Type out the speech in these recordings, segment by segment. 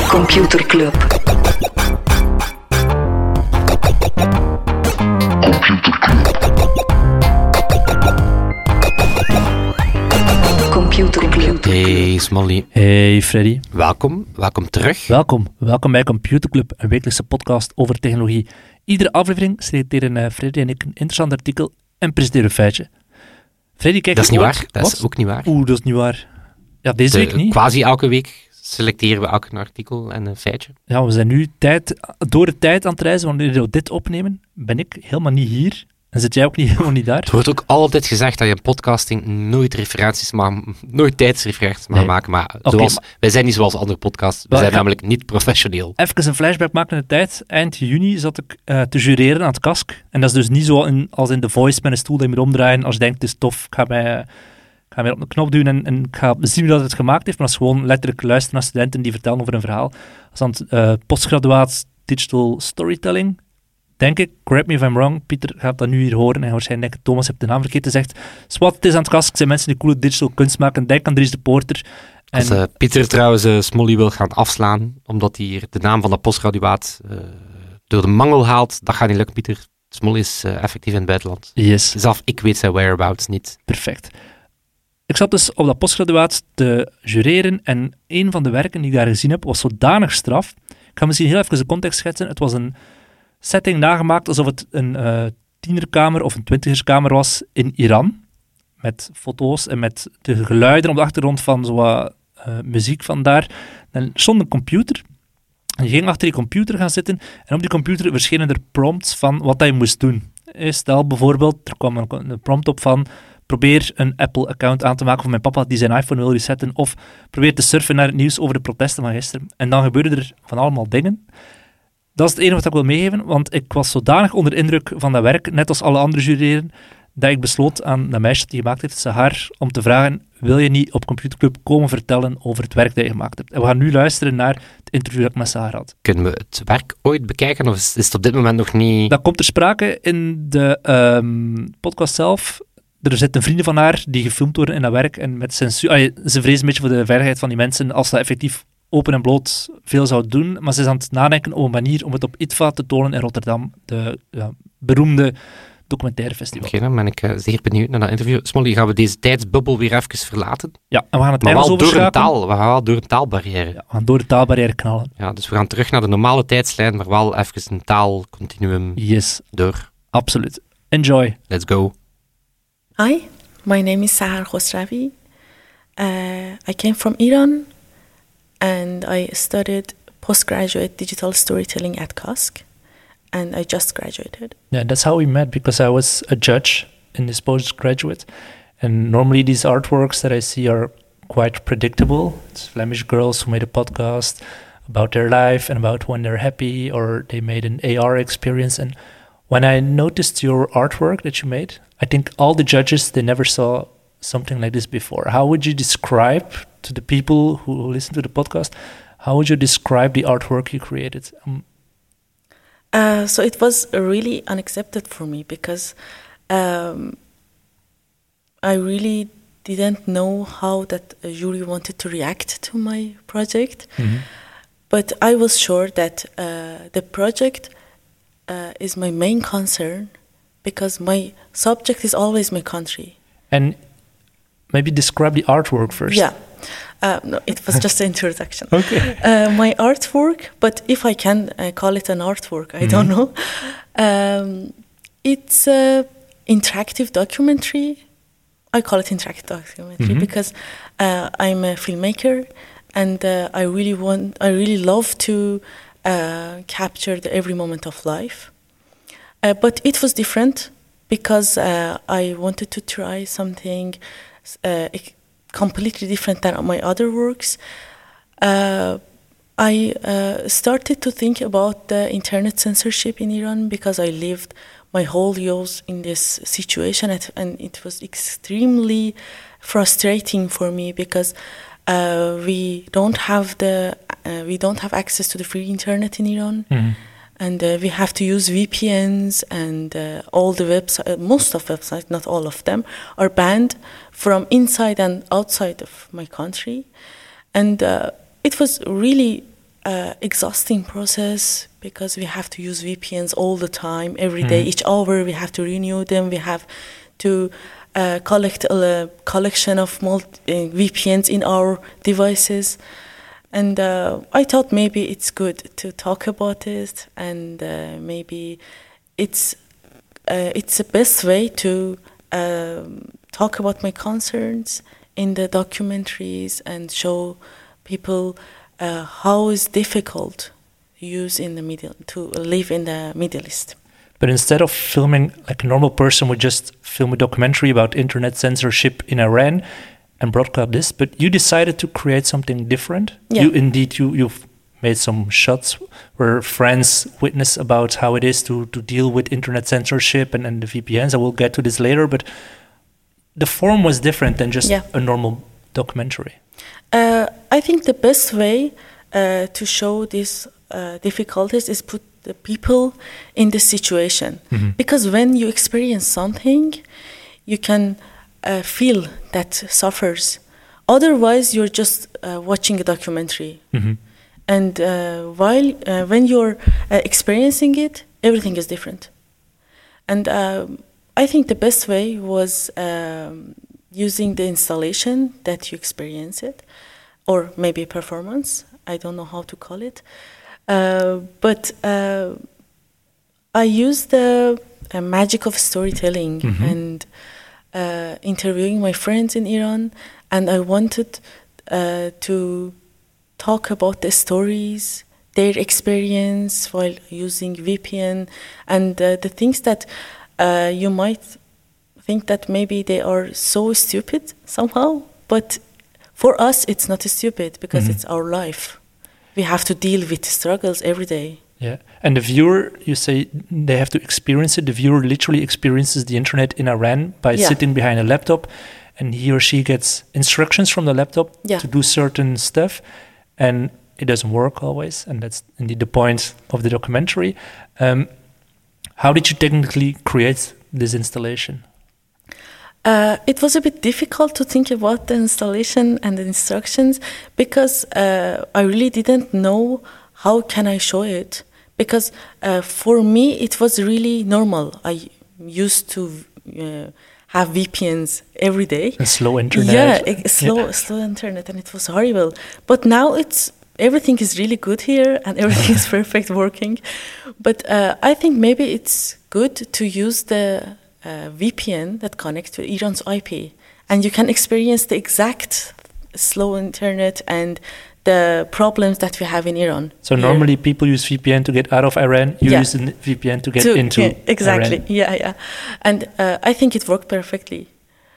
Computer Club. Computer Club. Hey Smolly. Hey Freddy. Welkom terug. Welkom bij Computer Club, een wekelijkse podcast over technologie. Iedere aflevering selecteren Freddy en ik een interessant artikel en presenteren een feitje. Freddy, kijk. Dat is niet waar. Wat? Dat is ook niet waar. Dat is niet waar. Ja, deze week niet. Quasi elke week selecteren we elk een artikel en een feitje. Ja, we zijn nu door de tijd aan het reizen. Wanneer we dit opnemen, ben ik helemaal niet hier. En zit jij ook helemaal niet daar? Het wordt ook altijd gezegd dat je in podcasting nooit tijdsreferenties mag maken. Maar wij zijn niet zoals andere podcasts. We zijn namelijk niet professioneel. Even een flashback maken in de tijd. Eind juni zat ik te jureren aan het KASK. En dat is dus niet zo als in The Voice met een stoel dat je moet omdraaien. Als je denkt, het is tof, ik ga mij op de knop duwen en ik ga zien wie dat het gemaakt heeft. Maar dat is gewoon letterlijk luisteren naar studenten die vertellen over een verhaal. Dat is dan postgraduaat digital storytelling. Denk ik, correct me if I'm wrong, Pieter gaat dat nu hier horen en waarschijnlijk denken, Thomas heeft de naam verkeerd gezegd. Swat, het is aan het KASK, zijn mensen die coole digital kunst maken. Denk aan Dries de Poorter. Als Pieter trouwens Smolly wil gaan afslaan, omdat hij hier de naam van de postgraduaat door de mangel haalt, dat gaat niet lukken, Pieter. Smolly is effectief in het buitenland. Yes. Zelf ik weet zijn whereabouts niet. Perfect. Ik zat dus op dat postgraduaat te jureren en een van de werken die ik daar gezien heb was zodanig straf. Ik ga misschien heel even de context schetsen. Het was een setting nagemaakt alsof het een tienerkamer of een twintigerskamer was in Iran. Met foto's en met de geluiden op de achtergrond van zo muziek van daar. En er stond een computer. En je ging achter die computer gaan zitten en op die computer verschenen er prompts van wat je moest doen. Stel bijvoorbeeld, er kwam een prompt op van probeer een Apple-account aan te maken voor mijn papa die zijn iPhone wil resetten, of probeer te surfen naar het nieuws over de protesten van gisteren. En dan gebeurden er van allemaal dingen. Dat is het enige wat ik wil meegeven, want ik was zodanig onder indruk van dat werk, net als alle andere jureren, dat ik besloot aan dat meisje die gemaakt heeft, Sahar, om te vragen, wil je niet op Computer Club komen vertellen over het werk dat je gemaakt hebt? En we gaan nu luisteren naar het interview dat ik met Sahar had. Kunnen we het werk ooit bekijken, of is het op dit moment nog niet? Dat komt ter sprake in de podcast zelf. Er zitten vrienden van haar die gefilmd worden in dat werk en met censuur. Ze vrezen een beetje voor de veiligheid van die mensen als dat effectief open en bloot veel zou doen, maar ze is aan het nadenken over een manier om het op ITVA te tonen in Rotterdam, de beroemde documentaire festival. Oké, dan ben ik zeer benieuwd naar dat interview. Smolly, gaan we deze tijdsbubbel weer even verlaten? Ja, en we gaan het maar Engels we gaan wel door een taalbarrière. Ja, we gaan door de taalbarrière knallen. Ja, dus we gaan terug naar de normale tijdslijn, maar wel even een taalcontinuum door. Absoluut. Enjoy. Let's go. Hi, my name is Sahar Khosravi. I came from Iran and I studied postgraduate digital storytelling at KASK and I just graduated. Yeah, that's how we met because I was a judge in this postgraduate and normally these artworks that I see are quite predictable. It's Flemish girls who made a podcast about their life and about when they're happy or they made an AR experience. And when I noticed your artwork that you made, I think all the judges, they never saw something like this before. How would you describe to the people who listen to the podcast, how would you describe the artwork you created? So it was really unaccepted for me because I really didn't know how that jury wanted to react to my project. Mm-hmm. But I was sure that the project is my main concern because my subject is always my country. And maybe describe the artwork first. Yeah. No, it was just an introduction. Okay. My artwork, but if I can call it an artwork, I don't know. It's an interactive documentary. I call it interactive documentary because I'm a filmmaker and I really love to capture every moment of life. But it was different because I wanted to try something completely different than my other works. I started to think about the internet censorship in Iran because I lived my whole years in this situation and it was extremely frustrating for me because we don't have access to the free internet in Iran. Mm-hmm. And we have to use VPNs and all the websites, most of websites, not all of them, are banned from inside and outside of my country. And it was really exhausting process because we have to use VPNs all the time, every day, each hour we have to renew them. We have to collect a collection of VPNs in our devices. And I thought maybe it's good to talk about it, and maybe it's the best way to talk about my concerns in the documentaries and show people how it's difficult to live in the Middle East. But instead of filming like a normal person would just film a documentary about internet censorship in Iran and broadcast this, but you decided to create something different. Yeah. You've made some shots where friends witness about how it is to deal with internet censorship and the VPNs. I will get to this later, but the form was different than just a normal documentary. I think the best way to show these difficulties is put the people in the situation. Because when you experience something, you can feel that suffers. Otherwise, you're just watching a documentary. And when you're experiencing it, everything is different. And I think the best way was using the installation that you experience it, or maybe performance. I don't know how to call it. But I used the magic of storytelling and interviewing my friends in Iran, and I wanted to talk about the stories, their experience while using VPN, and the things that you might think that maybe they are so stupid somehow, but for us it's not stupid because it's our life. We have to deal with struggles every day. Yeah, and the viewer, you say they have to experience it. The viewer literally experiences the internet in Iran by sitting behind a laptop, and he or she gets instructions from the laptop to do certain stuff, and it doesn't work always, and that's indeed the point of the documentary. How did you technically create this installation? It was a bit difficult to think about the installation and the instructions because I really didn't know how can I show it. Because for me, it was really normal. I used to have VPNs every day. And slow internet. Yeah, slow internet, and it was horrible. But now everything is really good here, and everything is perfect working. But I think maybe it's good to use the VPN that connects to Iran's IP, and you can experience the exact slow internet and the problems that we have in Iran. So normally people use VPN to get out of Iran. You use the VPN to get into exactly. Iran. Yeah. And I think it worked perfectly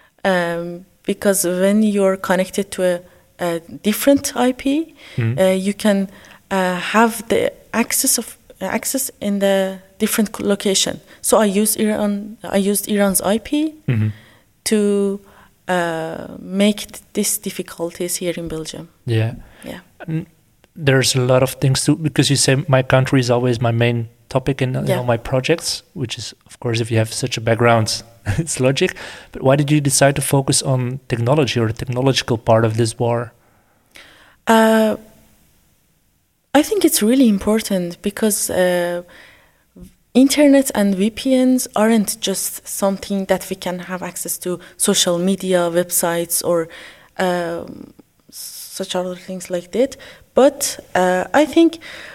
because when you're connected to a different IP, you can have the access in the different location. So I used Iran's IP to make these difficulties here in Belgium. Yeah. There's a lot of things too, because you say my country is always my main topic in all my projects, which is, of course, if you have such a background, it's logic. But why did you decide to focus on technology or the technological part of this war? I think it's really important because internet and VPNs aren't just something that we can have access to social media, websites, or such other things like that. But I think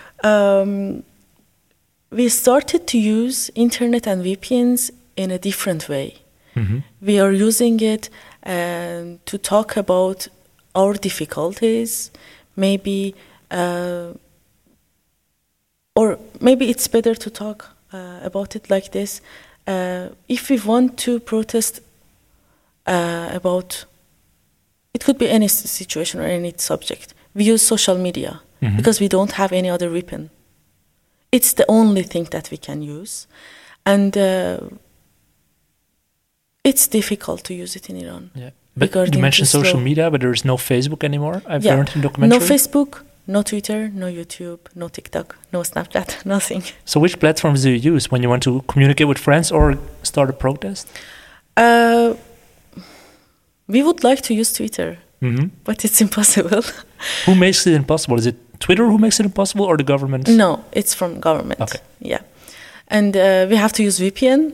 we started to use internet and VPNs in a different way. We are using it to talk about our difficulties, maybe, or maybe it's better to talk about it like this. If we want to protest about, it could be any situation or any subject, we use social media because we don't have any other weapon. It's the only thing that we can use. And it's difficult to use it in Iran. Yeah. But you mentioned social media, but there is no Facebook anymore, I've learned in documentary. No Facebook, no Twitter, no YouTube, no TikTok, no Snapchat, nothing. So which platforms do you use when you want to communicate with friends or start a protest? We would like to use Twitter, but it's impossible. Who makes it impossible? Is it Twitter who makes it impossible, or the government? No, it's from government. Okay. Yeah. And we have to use VPN,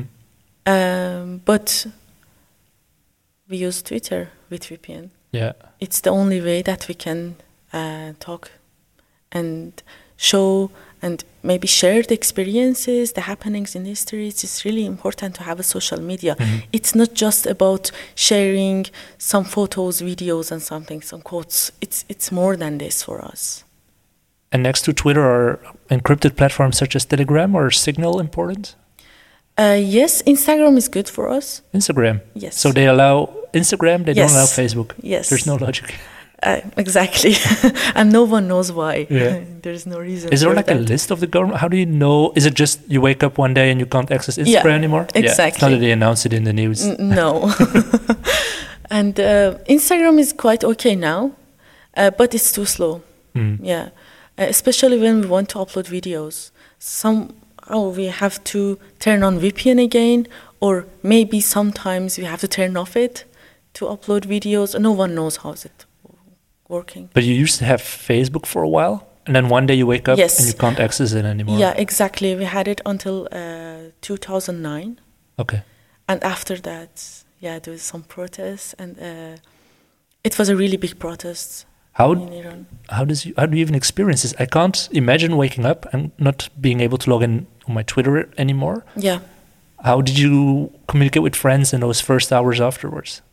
but we use Twitter with VPN. Yeah. It's the only way that we can talk and show and maybe share the experiences, the happenings in history. It's really important to have a social media. It's not just about sharing some photos, videos, and some quotes. It's more than this for us. And next to Twitter, are encrypted platforms such as Telegram or Signal important? Yes, Instagram is good for us. Instagram? Yes. So they allow Instagram, they don't allow Facebook? Yes. There's no logic. Exactly. And no one knows why. Yeah. There's no reason. Is there for like that. a list of the government? How do you know? Is it just you wake up one day and you can't access Instagram anymore? Exactly. Yeah, it's not that they announce it in the news. No. And Instagram is quite okay now, but it's too slow. Yeah. Especially when we want to upload videos. We have to turn on VPN again, or maybe sometimes we have to turn off it to upload videos. No one knows how is it working. But you used to have Facebook for a while, and then one day you wake up Yes. and you can't access it anymore. Yeah, exactly. We had it until 2009. Okay. And after that, there was some protests, and it was a really big protest in Iran. How do you even experience this? I can't imagine waking up and not being able to log in on my Twitter anymore. Yeah. How did you communicate with friends in those first hours afterwards?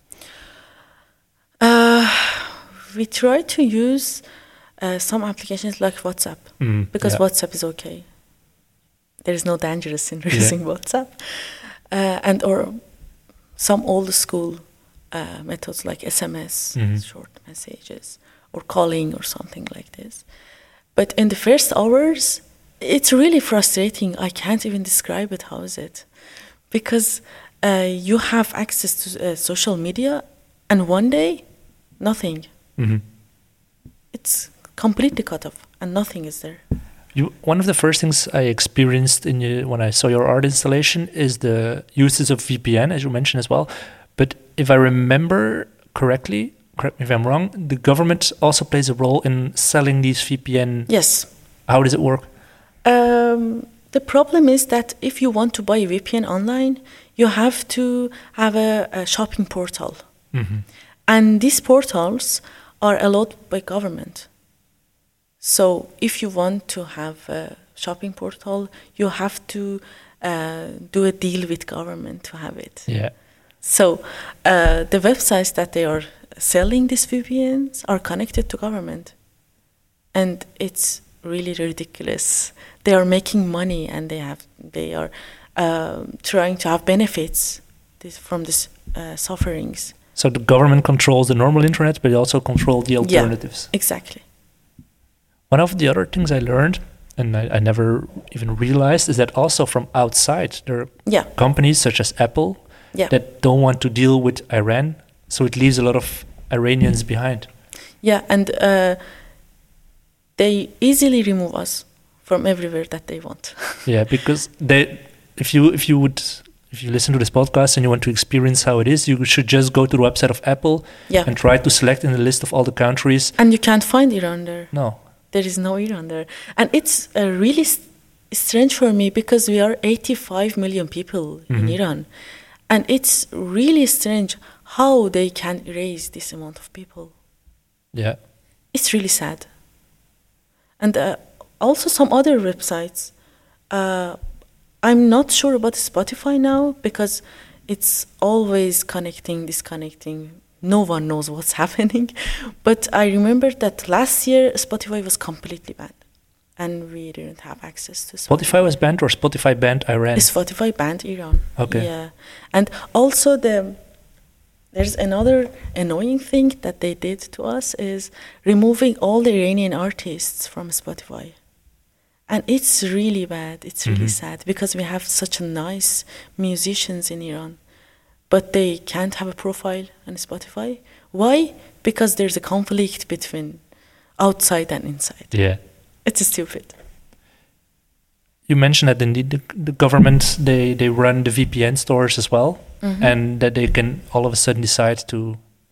We try to use some applications like WhatsApp because WhatsApp is okay. There is no dangerous in using WhatsApp, or some old school methods like SMS, short messages, or calling or something like this. But in the first hours, it's really frustrating. I can't even describe it. How is it? Because you have access to social media, and one day, nothing. It's completely cut off, and nothing is there. One of the first things I experienced when I saw your art installation is the uses of VPN, as you mentioned as well. But if I remember correctly, correct me if I'm wrong, the government also plays a role in selling these VPN. Yes. How does it work? The problem is that if you want to buy a VPN online, you have to have a shopping portal. And these portals are allowed by government. So if you want to have a shopping portal, you have to do a deal with government to have it. Yeah. So the websites that they are selling these VPNs are connected to government. And it's really ridiculous. They are making money, and they are trying to have benefits from these sufferings. So the government controls the normal internet, but they also control the alternatives. Yeah, exactly. One of the other things I learned, and I never even realized, is that also from outside there are companies such as Apple that don't want to deal with Iran, so it leaves a lot of Iranians behind. Yeah, and they easily remove us from everywhere that they want. Yeah, because if you listen to this podcast and you want to experience how it is, you should just go to the website of Apple and try to select in the list of all the countries. And you can't find Iran there. No. There is no Iran there. And it's really strange for me because we are 85 million people in Iran. And it's really strange how they can erase this amount of people. Yeah. It's really sad. And also some other websites. I'm not sure about Spotify now because it's always connecting, disconnecting. No one knows what's happening. But I remember that last year Spotify was completely banned. And we didn't have access to Spotify. Spotify was banned, or Spotify banned Iran? Spotify banned Iran. Okay. Yeah. And also there's another annoying thing that they did to us is removing all the Iranian artists from Spotify. And it's really bad. It's really sad because we have such nice musicians in Iran. But they can't have a profile on Spotify. Why? Because there's a conflict between outside and inside. Yeah. It's stupid. You mentioned that indeed the government, they run the VPN stores as well, and that they can all of a sudden decide to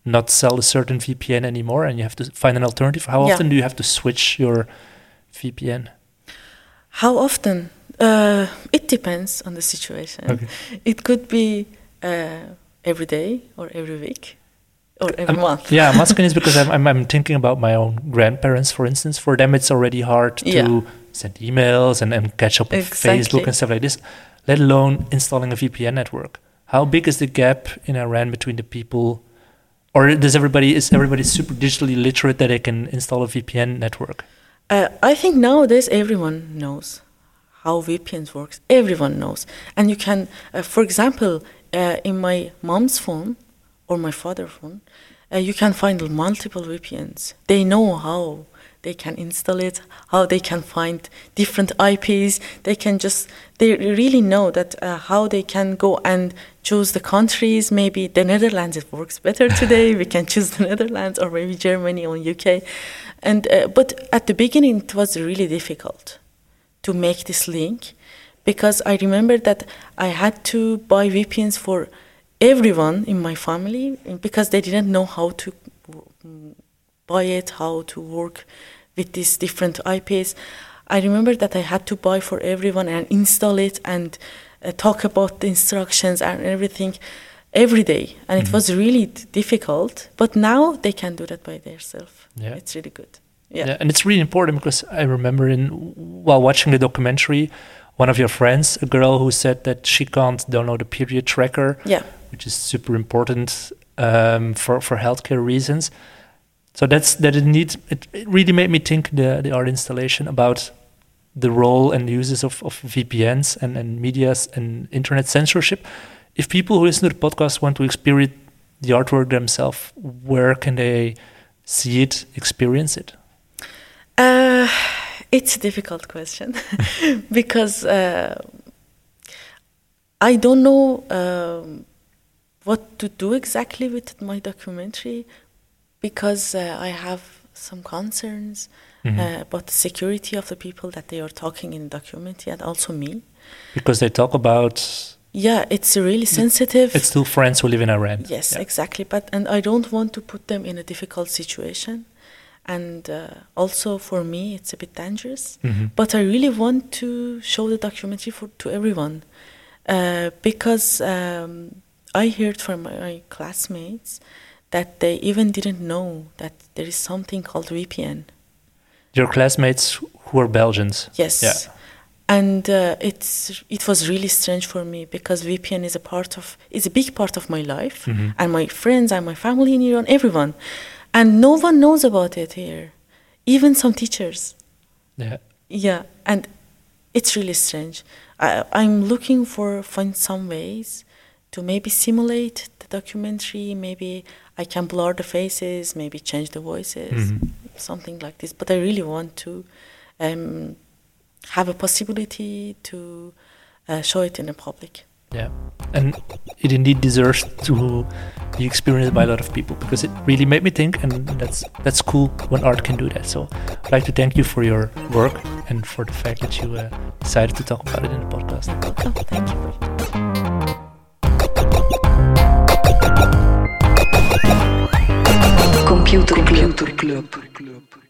not sell a certain VPN anymore and you have to find an alternative. How often do you have to switch your VPN? How often? It depends on the situation. Okay. It could be every day or every week or every month. Yeah, I'm asking this because I'm thinking about my own grandparents, for instance. For them, it's already hard to send emails and catch up with Facebook and stuff like this, let alone installing a VPN network. How big is the gap in Iran between the people? Or is everybody super digitally literate that they can install a VPN network? I think nowadays everyone knows how VPNs works. Everyone knows. And you can, for example, in my mom's phone or my father's phone, you can find multiple VPNs. They know how they can install it, how they can find different IPs. They really know that how they can go and choose the countries. Maybe the Netherlands, it works better today. We can choose the Netherlands or maybe Germany or UK. And but at the beginning, it was really difficult to make this link, because I remember that I had to buy VPNs for everyone in my family because they didn't know how to buy it, how to work with these different IPs. I remember that I had to buy for everyone and install it and talk about the instructions and everything every day. And it was really difficult, but now they can do that by themselves. Yeah. It's really good. Yeah, and it's really important because I remember while watching the documentary, one of your friends, a girl who said that she can't download a period tracker, which is super important for healthcare reasons. So it really made me think the art installation about the role and the uses of VPNs and medias and internet censorship. If people who listen to the podcast want to experience the artwork themselves, where can they see it, experience it? It's a difficult question because I don't know what to do exactly with my documentary, because I have some concerns about the security of the people that they are talking in the documentary, and also me. Because they talk about... Yeah, it's really sensitive. It's two friends who live in Iran. Yes, exactly. And I don't want to put them in a difficult situation. And also for me, it's a bit dangerous. But I really want to show the documentary to everyone. Because I heard from my classmates that they even didn't know that there is something called VPN. Your classmates who are Belgians? Yes. Yeah. And it was really strange for me, because VPN is a big part of my life, and my friends and my family in Iran, everyone. And no one knows about it here, even some teachers. Yeah. Yeah, and it's really strange. I'm looking find some ways to maybe simulate the documentary. Maybe I can blur the faces, maybe change the voices, something like this. But I really want to have a possibility to show it in the public. Yeah, and it indeed deserves to be experienced by a lot of people, because it really made me think, and that's cool when art can do that. So I'd like to thank you for your work and for the fact that you decided to talk about it in the podcast. Oh, thank you. Computer Club.